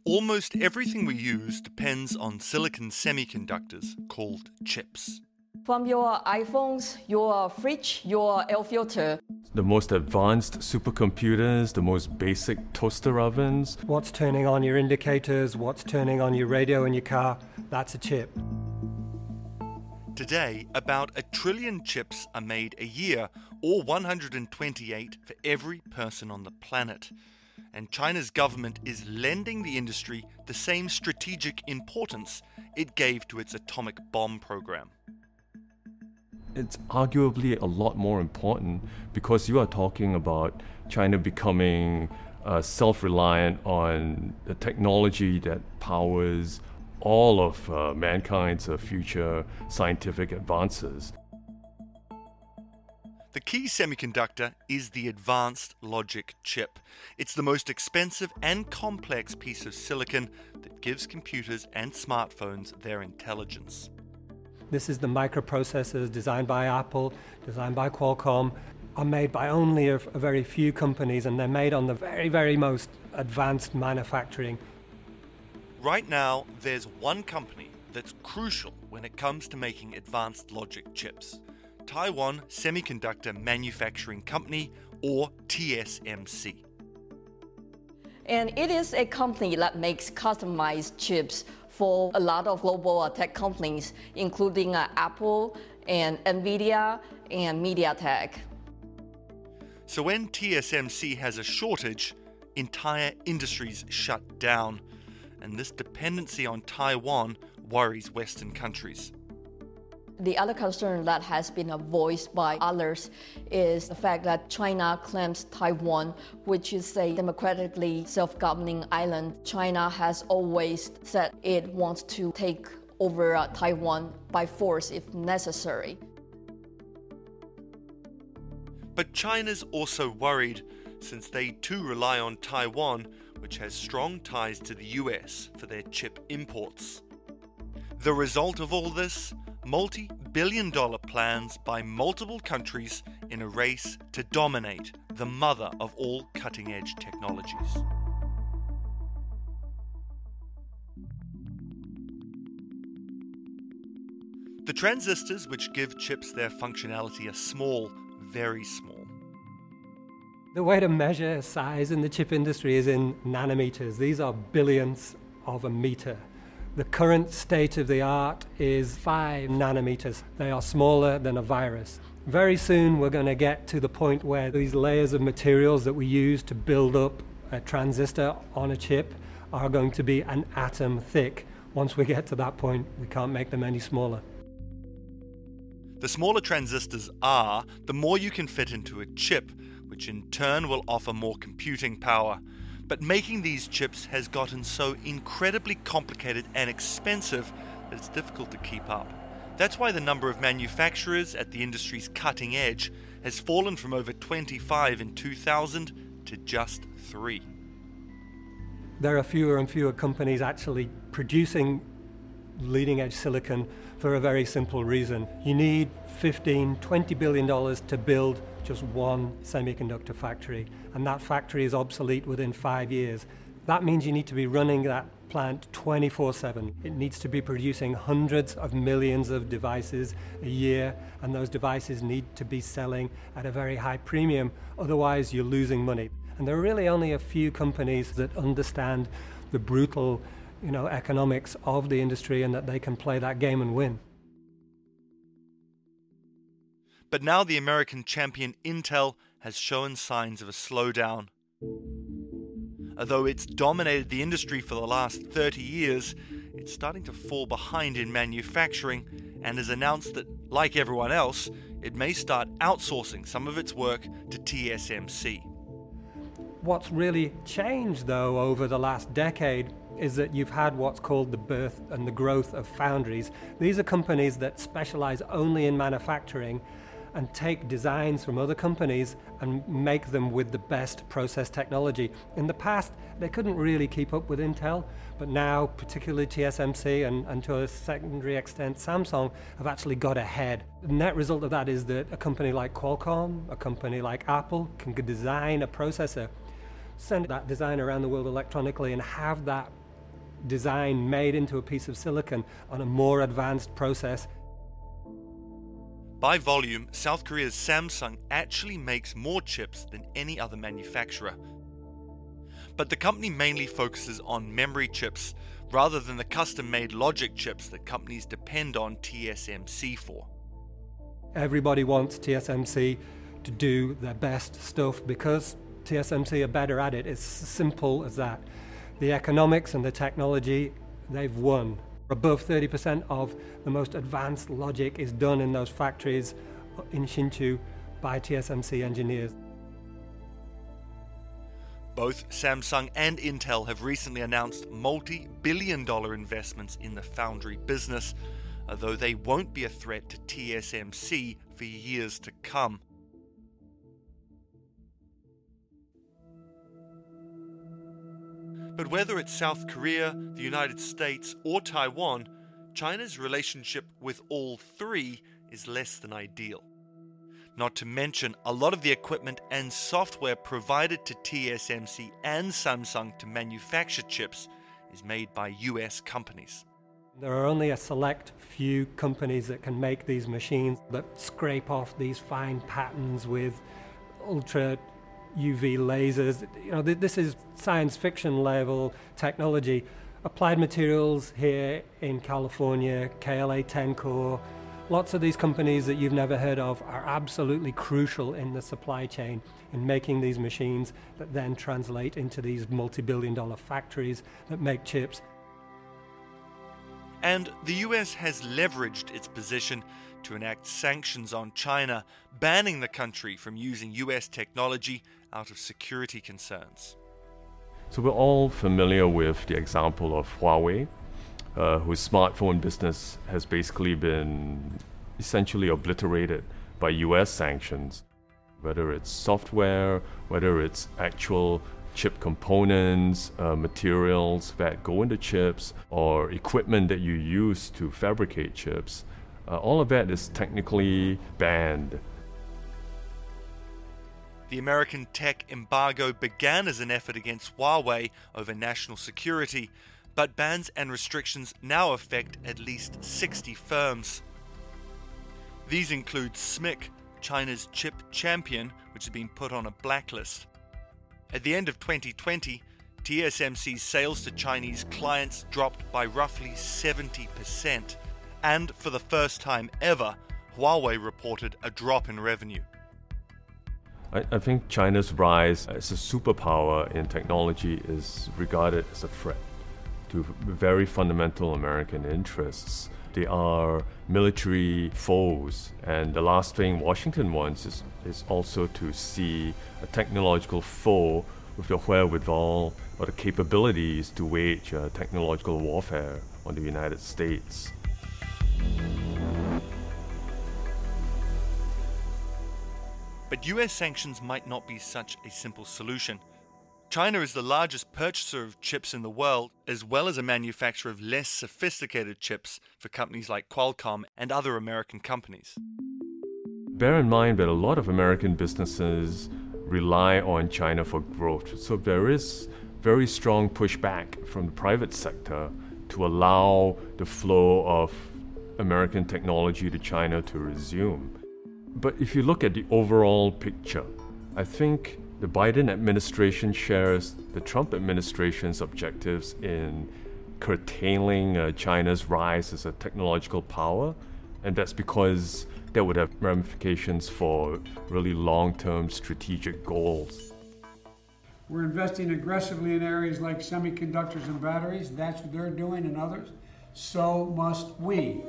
Almost everything we use depends on silicon semiconductors called chips. From your iPhones, your fridge, your air filter. The most advanced supercomputers, the most basic toaster ovens. What's turning on your indicators, what's turning on your radio in your car, that's a chip. Today, about 1 trillion chips are made a year, or 128 for every person on the planet. And China's government is lending the industry the same strategic importance it gave to its atomic bomb program. It's arguably a lot more important because you are talking about China becoming self-reliant on the technology that powers all of mankind's future scientific advances. The key semiconductor is the advanced logic chip. It's the most expensive and complex piece of silicon that gives computers and smartphones their intelligence. This is the microprocessors designed by Apple, designed by Qualcomm, are made by only a very few companies, and they're made on the very, very most advanced manufacturing. Right now, there's one company that's crucial when it comes to making advanced logic chips. Taiwan Semiconductor Manufacturing Company, or TSMC. And it is a company that makes customized chips for a lot of global tech companies, including Apple and NVIDIA and MediaTek. So when TSMC has a shortage, entire industries shut down. And this dependency on Taiwan worries Western countries. The other concern that has been voiced by others is the fact that China claims Taiwan, which is a democratically self-governing island. China has always said it wants to take over Taiwan by force if necessary. But China's also worried, since they too rely on Taiwan, which has strong ties to the US for their chip imports. The result of all this? Multi-billion-dollar plans by multiple countries in a race to dominate the mother of all cutting-edge technologies. The transistors which give chips their functionality are small, very small. The way to measure size in the chip industry is in nanometers. These are billionths of a meter. The current state of the art is 5 nanometers. They are smaller than a virus. Very soon we're going to get to the point where these layers of materials that we use to build up a transistor on a chip are going to be an atom thick. Once we get to that point, we can't make them any smaller. The smaller transistors are, the more you can fit into a chip, which in turn will offer more computing power. But making these chips has gotten so incredibly complicated and expensive that it's difficult to keep up. That's why the number of manufacturers at the industry's cutting edge has fallen from over 25 in 2000 to just 3. There are fewer and fewer companies actually producing leading-edge silicon for a very simple reason. You need $15–20 billion to build just one semiconductor factory, and that factory is obsolete within 5 years. That means you need to be running that plant 24/7. It needs to be producing hundreds of millions of devices a year, and those devices need to be selling at a very high premium, otherwise you're losing money. And there are really only a few companies that understand the brutal economics of the industry and that they can play that game and win. But now the American champion Intel has shown signs of a slowdown. Although it's dominated the industry for the last 30 years, it's starting to fall behind in manufacturing and has announced that, like everyone else, it may start outsourcing some of its work to TSMC. What's really changed, though, over the last decade is that you've had what's called the birth and the growth of foundries. These are companies that specialize only in manufacturing and take designs from other companies and make them with the best process technology. In the past, they couldn't really keep up with Intel, but now, particularly TSMC and to a secondary extent Samsung, have actually got ahead. The net result of that is that a company like Qualcomm, a company like Apple, can design a processor, send that design around the world electronically, and have that designed, made into a piece of silicon on a more advanced process. By volume, South Korea's Samsung actually makes more chips than any other manufacturer. But the company mainly focuses on memory chips rather than the custom-made logic chips that companies depend on TSMC for. Everybody wants TSMC to do their best stuff because TSMC are better at it. It's as simple as that. The economics and the technology, they've won. Above 30% of the most advanced logic is done in those factories in Hsinchu by TSMC engineers. Both Samsung and Intel have recently announced multi-billion-dollar investments in the foundry business, although they won't be a threat to TSMC for years to come. But whether it's South Korea, the United States, or Taiwan, China's relationship with all three is less than ideal. Not to mention, a lot of the equipment and software provided to TSMC and Samsung to manufacture chips is made by US companies. There are only a select few companies that can make these machines that scrape off these fine patterns with ultra UV lasers. You know, this is science fiction level technology. Applied Materials here in California, KLA Tencor, lots of these companies that you've never heard of are absolutely crucial in the supply chain in making these machines that then translate into these multi-billion-dollar factories that make chips. And the US has leveraged its position to enact sanctions on China, banning the country from using US technology out of security concerns. So we're all familiar with the example of Huawei, whose smartphone business has basically been essentially obliterated by US sanctions. Whether it's software, whether it's actual chip components, materials that go into chips, or equipment that you use to fabricate chips, all of that is technically banned. The American tech embargo began as an effort against Huawei over national security, but bans and restrictions now affect at least 60 firms. These include SMIC, China's chip champion, which has been put on a blacklist. At the end of 2020, TSMC's sales to Chinese clients dropped by roughly 70%, and for the first time ever, Huawei reported a drop in revenue. I think China's rise as a superpower in technology is regarded as a threat to very fundamental American interests. They are military foes, and the last thing Washington wants is also to see a technological foe with the wherewithal or the capabilities to wage technological warfare on the United States. But US sanctions might not be such a simple solution. China is the largest purchaser of chips in the world, as well as a manufacturer of less sophisticated chips for companies like Qualcomm and other American companies. Bear in mind that a lot of American businesses rely on China for growth, so there is very strong pushback from the private sector to allow the flow of American technology to China to resume. But if you look at the overall picture, I think the Biden administration shares the Trump administration's objectives in curtailing China's rise as a technological power, and that's because that would have ramifications for really long-term strategic goals. We're investing aggressively in areas like semiconductors and batteries. That's what they're doing and others. So must we.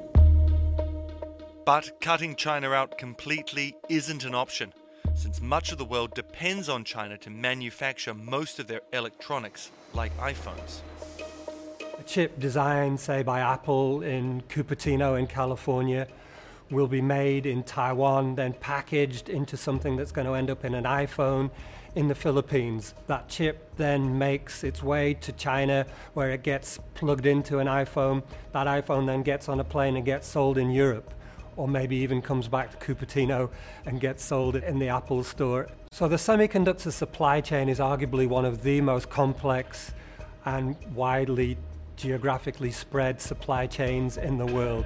But cutting China out completely isn't an option, since much of the world depends on China to manufacture most of their electronics, like iPhones. A chip designed, say, by Apple in Cupertino in California will be made in Taiwan, then packaged into something that's going to end up in an iPhone in the Philippines. That chip then makes its way to China, where it gets plugged into an iPhone. That iPhone then gets on a plane and gets sold in Europe, or maybe even comes back to Cupertino and gets sold in the Apple store. So the semiconductor supply chain is arguably one of the most complex and widely geographically spread supply chains in the world.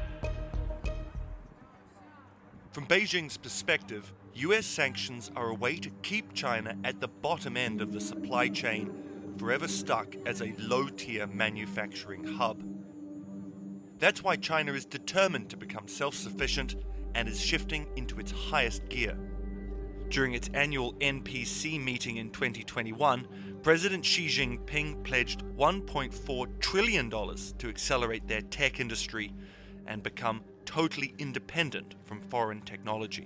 From Beijing's perspective, US sanctions are a way to keep China at the bottom end of the supply chain, forever stuck as a low-tier manufacturing hub. That's why China is determined to become self-sufficient and is shifting into its highest gear. During its annual NPC meeting in 2021, President Xi Jinping pledged $1.4 trillion to accelerate their tech industry and become totally independent from foreign technology.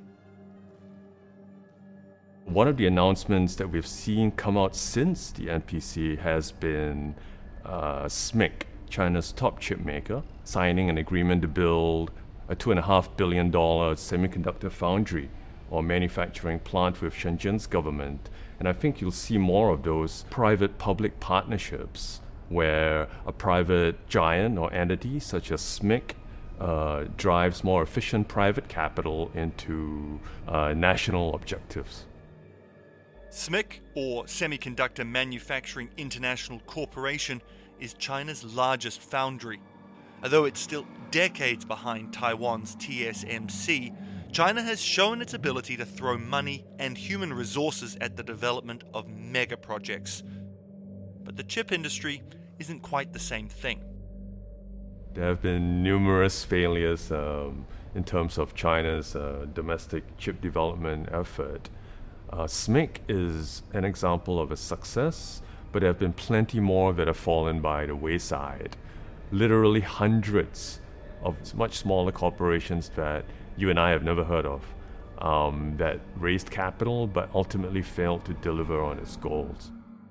One of the announcements that we've seen come out since the NPC has been SMIC, China's top chip maker, signing an agreement to build a $2.5 billion semiconductor foundry or manufacturing plant with Shenzhen's government. And I think you'll see more of those private-public partnerships where a private giant or entity such as SMIC drives more efficient private capital into national objectives. SMIC, or Semiconductor Manufacturing International Corporation, is China's largest foundry. Although it's still decades behind Taiwan's TSMC, China has shown its ability to throw money and human resources at the development of mega projects. But the chip industry isn't quite the same thing. There have been numerous failures in terms of China's domestic chip development effort. SMIC is an example of a success, but there have been plenty more that have fallen by the wayside. Literally hundreds of much smaller corporations that you and I have never heard of that raised capital but ultimately failed to deliver on its goals.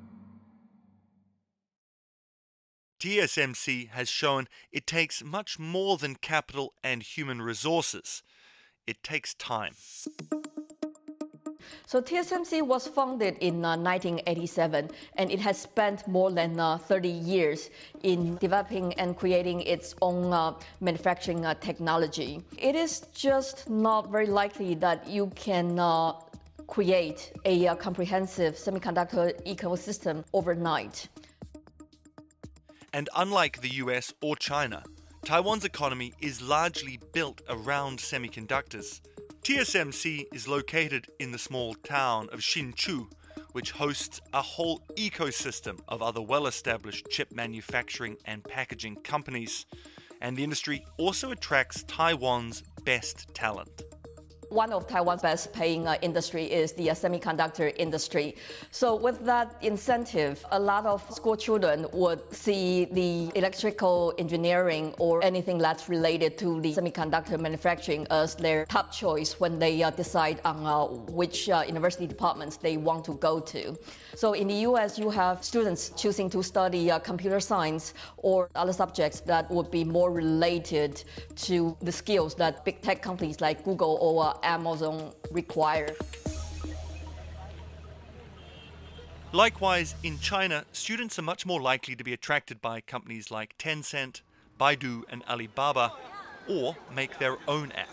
TSMC has shown it takes much more than capital and human resources. It takes time. So TSMC was founded in 1987, and it has spent more than 30 years in developing and creating its own manufacturing technology. It is just not very likely that you can create a comprehensive semiconductor ecosystem overnight. And unlike the US or China, Taiwan's economy is largely built around semiconductors. TSMC is located in the small town of Hsinchu, which hosts a whole ecosystem of other well-established chip manufacturing and packaging companies. And the industry also attracts Taiwan's best talent. One of Taiwan's best paying industry is the semiconductor industry. So with that incentive, a lot of school children would see the electrical engineering or anything that's related to the semiconductor manufacturing as their top choice when they decide on which university departments they want to go to. So in the US, you have students choosing to study computer science or other subjects that would be more related to the skills that big tech companies like Google or Amazon require. Likewise, in China, students are much more likely to be attracted by companies like Tencent, Baidu, and Alibaba, or make their own app.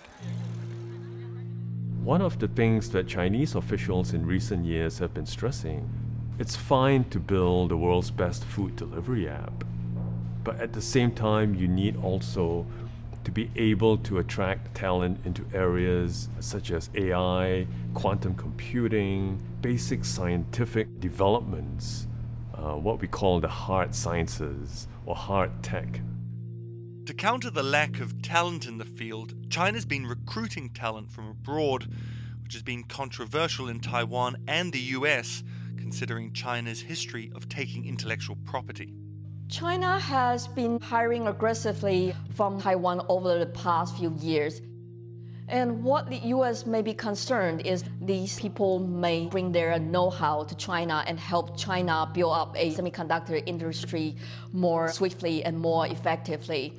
One of the things that Chinese officials in recent years have been stressing, it's fine to build the world's best food delivery app, but at the same time, you need also to be able to attract talent into areas such as AI, quantum computing, basic scientific developments, what we call the hard sciences or hard tech. To counter the lack of talent in the field, China's been recruiting talent from abroad, which has been controversial in Taiwan and the US, considering China's history of taking intellectual property. China has been hiring aggressively from Taiwan over the past few years. And what the US may be concerned is these people may bring their know-how to China and help China build up a semiconductor industry more swiftly and more effectively.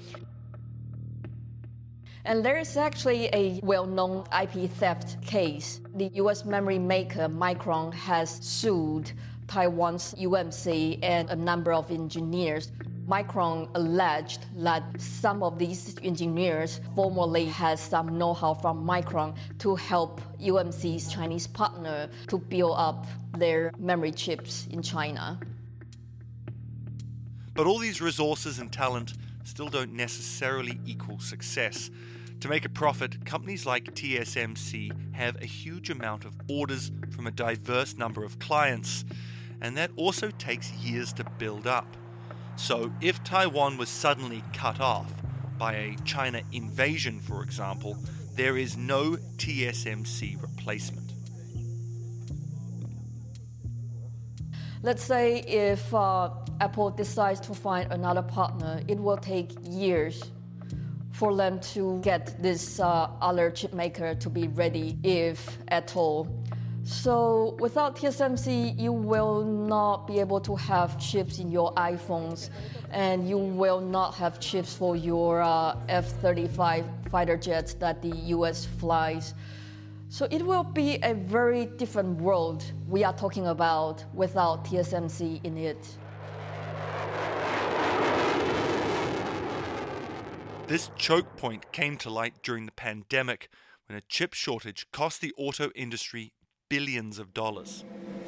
And there is actually a well-known IP theft case. The US memory maker Micron has sued Taiwan's UMC and a number of engineers. Micron alleged that some of these engineers formerly had some know-how from Micron to help UMC's Chinese partner to build up their memory chips in China. But all these resources and talent still don't necessarily equal success. To make a profit, companies like TSMC have a huge amount of orders from a diverse number of clients, and that also takes years to build up. So if Taiwan was suddenly cut off by a China invasion, for example, there is no TSMC replacement. Let's say if Apple decides to find another partner, it will take years for them to get this other chip maker to be ready, if at all. So without TSMC, you will not be able to have chips in your iPhones, and you will not have chips for your F-35 fighter jets that the US flies. So it will be a very different world we are talking about without TSMC in it. This choke point came to light during the pandemic, when a chip shortage cost the auto industry billions of dollars.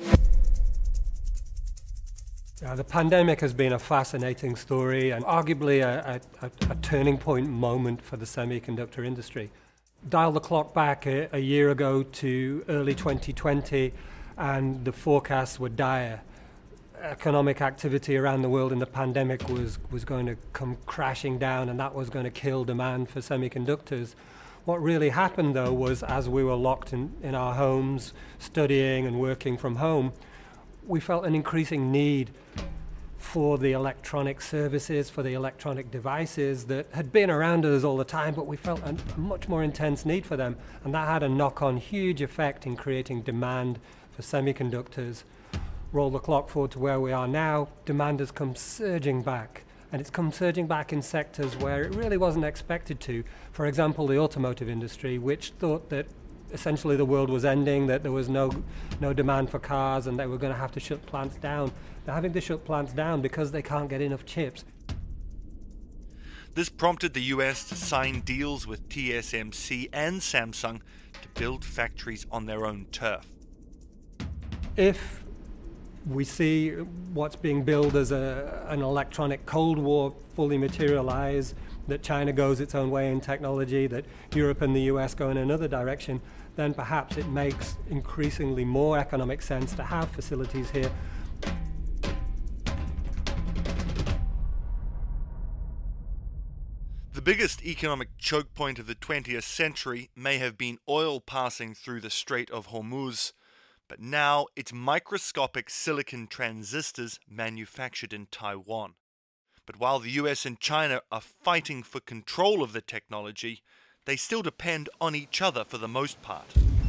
The pandemic has been a fascinating story and arguably a turning point moment for the semiconductor industry. Dial the clock back a year ago to early 2020 and the forecasts were dire. Economic activity around the world in the pandemic was going to come crashing down, and that was going to kill demand for semiconductors. What really happened, though, was as we were locked in our homes, studying and working from home, we felt an increasing need for the electronic services, for the electronic devices that had been around us all the time, but we felt a much more intense need for them. And that had a knock-on huge effect in creating demand for semiconductors. Roll the clock forward to where we are now, demand has come surging back. And it's come surging back in sectors where it really wasn't expected to. For example, the automotive industry, which thought that essentially the world was ending, that there was no demand for cars and they were going to have to shut plants down. They're having to shut plants down because they can't get enough chips. This prompted the US to sign deals with TSMC and Samsung to build factories on their own turf. If we see what's being billed as an electronic Cold War fully materialize, that China goes its own way in technology, that Europe and the US go in another direction, then perhaps it makes increasingly more economic sense to have facilities here. The biggest economic choke point of the 20th century may have been oil passing through the Strait of Hormuz, but now it's microscopic silicon transistors manufactured in Taiwan. But while the US and China are fighting for control of the technology, they still depend on each other for the most part.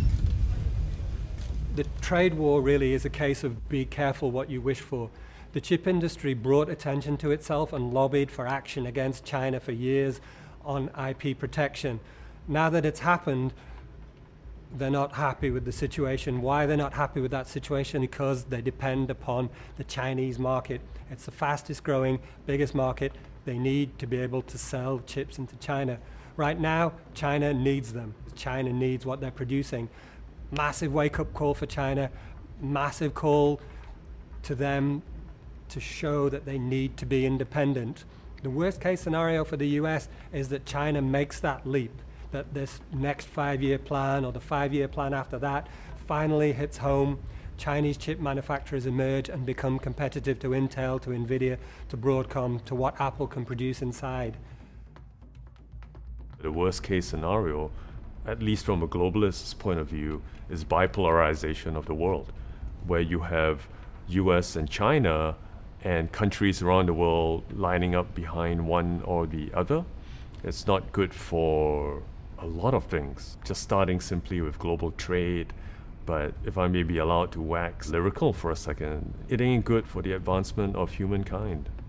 The trade war really is a case of be careful what you wish for. The chip industry brought attention to itself and lobbied for action against China for years on IP protection. Now that it's happened, they're not happy with the situation. Why they're not happy with that situation? Because they depend upon the Chinese market. It's the fastest growing, biggest market. They need to be able to sell chips into China. Right now, China needs them. China needs what they're producing. Massive wake-up call for China, massive call to them to show that they need to be independent. The worst case scenario for the US is that China makes that leap, that this next 5-year plan or the 5-year plan after that finally hits home. Chinese chip manufacturers emerge and become competitive to Intel, to Nvidia, to Broadcom, to what Apple can produce inside. The worst case scenario, at least from a globalist's point of view, is bipolarization of the world, where you have US and China and countries around the world lining up behind one or the other. It's not good for a lot of things, just starting simply with global trade. But if I may be allowed to wax lyrical for a second, it ain't good for the advancement of humankind.